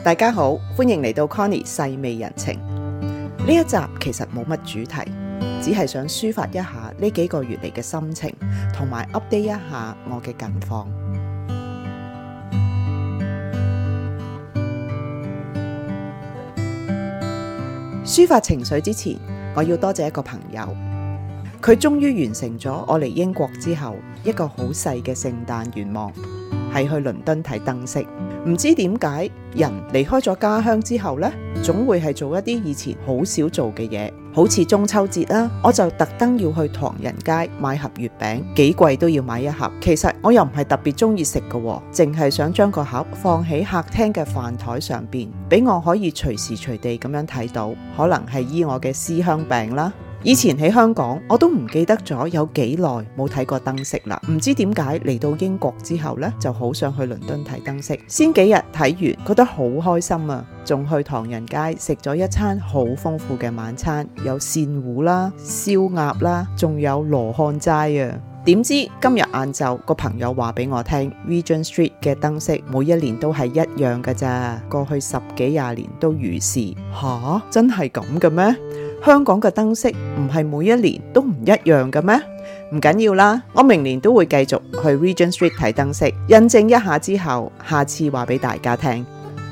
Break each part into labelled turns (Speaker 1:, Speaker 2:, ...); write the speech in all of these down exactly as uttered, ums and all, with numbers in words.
Speaker 1: 大家好，歡迎嚟到 Connie 細味人情。呢一集其實冇乜主題，只係想抒發一下呢幾個月嚟嘅心情，同埋 update 一下我嘅近況。抒發情緒之前，我要多謝一個朋友，佢終於完成咗我嚟英國之後一個好細嘅聖誕願望，係去倫敦睇燈飾。唔知點解人離開咗家鄉之後呢，總會係做一啲以前好少做嘅嘢，好似中秋節啦，我就特登要去唐人街買盒月餅，幾貴都要買一盒。其實我又唔係特別中意食嘅，淨係想將個盒放喺客廳嘅飯台上邊，俾我可以隨時隨地咁樣睇到，可能係醫我嘅思鄉病啦。以前喺香港我都唔記得咗有幾耐冇睇過燈飾啦，唔知點解嚟到英國之後呢，就好想去倫敦睇燈飾。先幾日睇完覺得好開心啊，仲去唐人街食咗一餐好豐富嘅晚餐，有鱔糊啦、燒鴨啦，仲有羅漢齋啊。點知今日晏晝個朋友話俾我聽 Regent Street 嘅燈飾每一年都係一樣噶咋，過去十幾廿年都如是。吓，真係咁嘅咩？香港嘅燈飾唔係每一年都唔一樣嘅咩？唔緊要啦，我明年都會繼續去 Regent Street 睇燈飾，印證一下之後，下次話俾大家聽。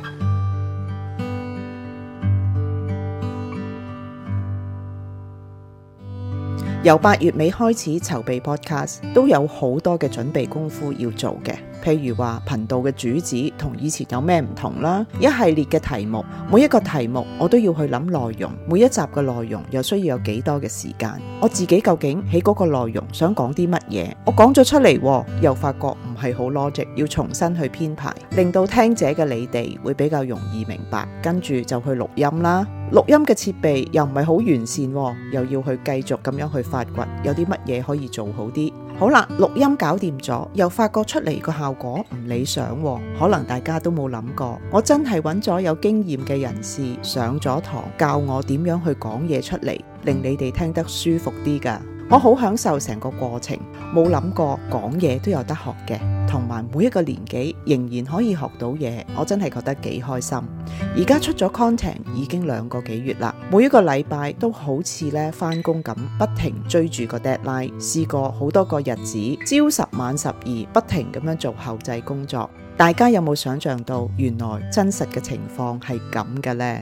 Speaker 1: 由八月尾開始籌備 podcast， 都有好多嘅準備功夫要做嘅。譬如話頻道嘅主旨同以前有咩唔同啦，一系列嘅題目，每一個題目我都要去諗內容，每一集嘅內容又需要有幾多嘅時間，我自己究竟喺嗰個內容想講啲乜嘢，我講咗出嚟又發覺唔係好 logic， 要重新去編排，令到聽者嘅你哋會比較容易明白，跟住就去錄音啦。錄音嘅設備又唔係好完善，又要去繼續咁樣去發掘有啲乜嘢可以做好啲。好啦，錄音搞掂咗，又發覺出嚟個效果唔理想，可能大家都冇諗過，我真係揾咗有經驗嘅人士上咗堂，教我點樣去講嘢出嚟，令你哋聽得舒服啲㗎。我好享受成個過程，冇諗過講嘢都有得學嘅，同埋每一個年紀仍然可以學到嘢，我真係覺得幾開心。而家出咗 content 已經兩個幾月啦，每一個禮拜都好似咧返工咁，不停追住個 deadline， 試過好多個日子，朝十晚十二，不停咁樣做後製工作。大家有冇想象到原來真實嘅情況係咁嘅呢？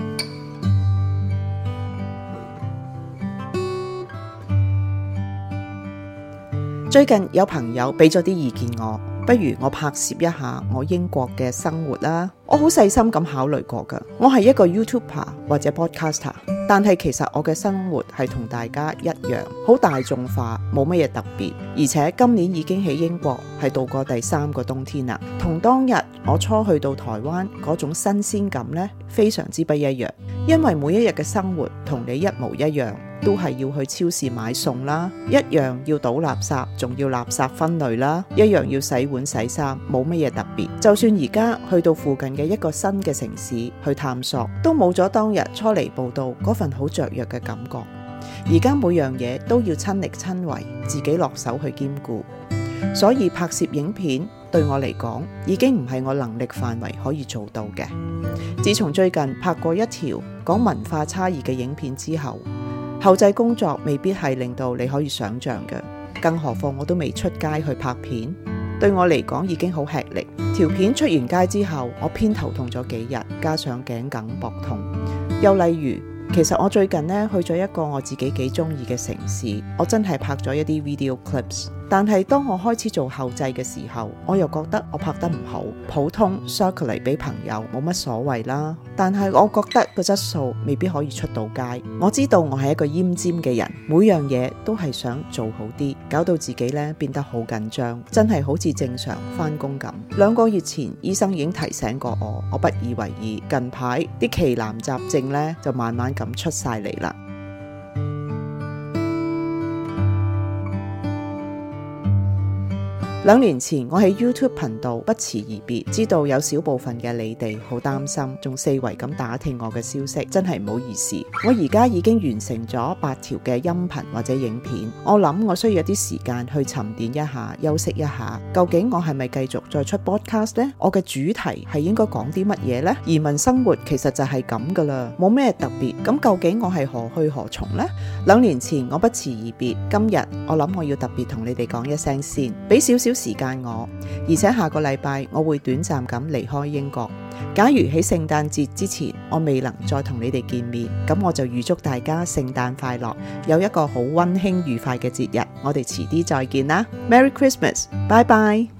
Speaker 1: 最近有朋友俾咗啲意見我，不如我拍攝一下我英國嘅生活啦。我好細心咁考慮過㗎，我係一個 YouTuber 或者 Podcaster， 但係其實我嘅生活係同大家一樣，好大眾化，冇乜嘢特別。而且今年已經喺英國係度過第三個冬天啦，同當日我初去到台灣嗰種新鮮感呢，非常之不一樣。因為每一日嘅生活同你一模一樣，都係要去超市買餸啦，一樣要倒垃圾，仲要垃圾分類啦，一樣要洗碗洗衫，冇乜嘢特別。就算而家去到附近嘅一個新嘅城市去探索，都冇咗當日初嚟報到嗰份好雀躍嘅感覺。而家每樣嘢都要親力親為，自己落手去兼顧，所以拍攝影片對我嚟講已經唔係我能力範圍可以做到嘅。自從最近拍過一條講文化差異嘅影片之後，後製工作未必係令到你可以想象嘅，更何況我都未出街去拍片，對我嚟講已經好吃力。條片出完街之後，我偏頭痛咗幾日，加上頸梗膊痛。又例如，其實我最近呢去咗一個我自己幾中意嘅城市，我真係拍咗一啲 video clips。但係當我開始做後製嘅時候，我又覺得我拍得唔好，普通 circulate 俾朋友冇乜所謂啦。但係我覺得個質素未必可以出到街。我知道我係一個奄尖嘅人，每樣嘢都係想做好啲，搞到自己咧變得好緊張，真係好似正常返工咁。兩個月前醫生已經提醒過我，我不以為意。近排啲奇難雜症咧就慢慢咁出晒嚟啦。 兩年前我喺 YouTube 頻道不辭而別，知道有少部分嘅你哋好擔心，仲四圍咁打聽我嘅消息，真係唔好意思。我而家已經完成咗八條嘅音頻或者影片，我諗我需要一啲時間去沉澱一下，休息一下。究竟我係咪繼續再出 podcast 呢？我嘅主題係應該講啲乜嘢呢？移民生活其實就係咁噶啦，冇咩特別。咁究竟我係何去何從呢？兩年前我不辭而別，今日我諗我要特別同你哋講一聲先，俾少少時間我，而且下個禮拜我會短暫咁離開英國。假如喺聖誕節之前我未能再同你哋見面，咁我就預祝大家聖誕快樂，有一個好溫馨愉快嘅節日。我哋遲啲再見啦，Merry Christmas，拜拜。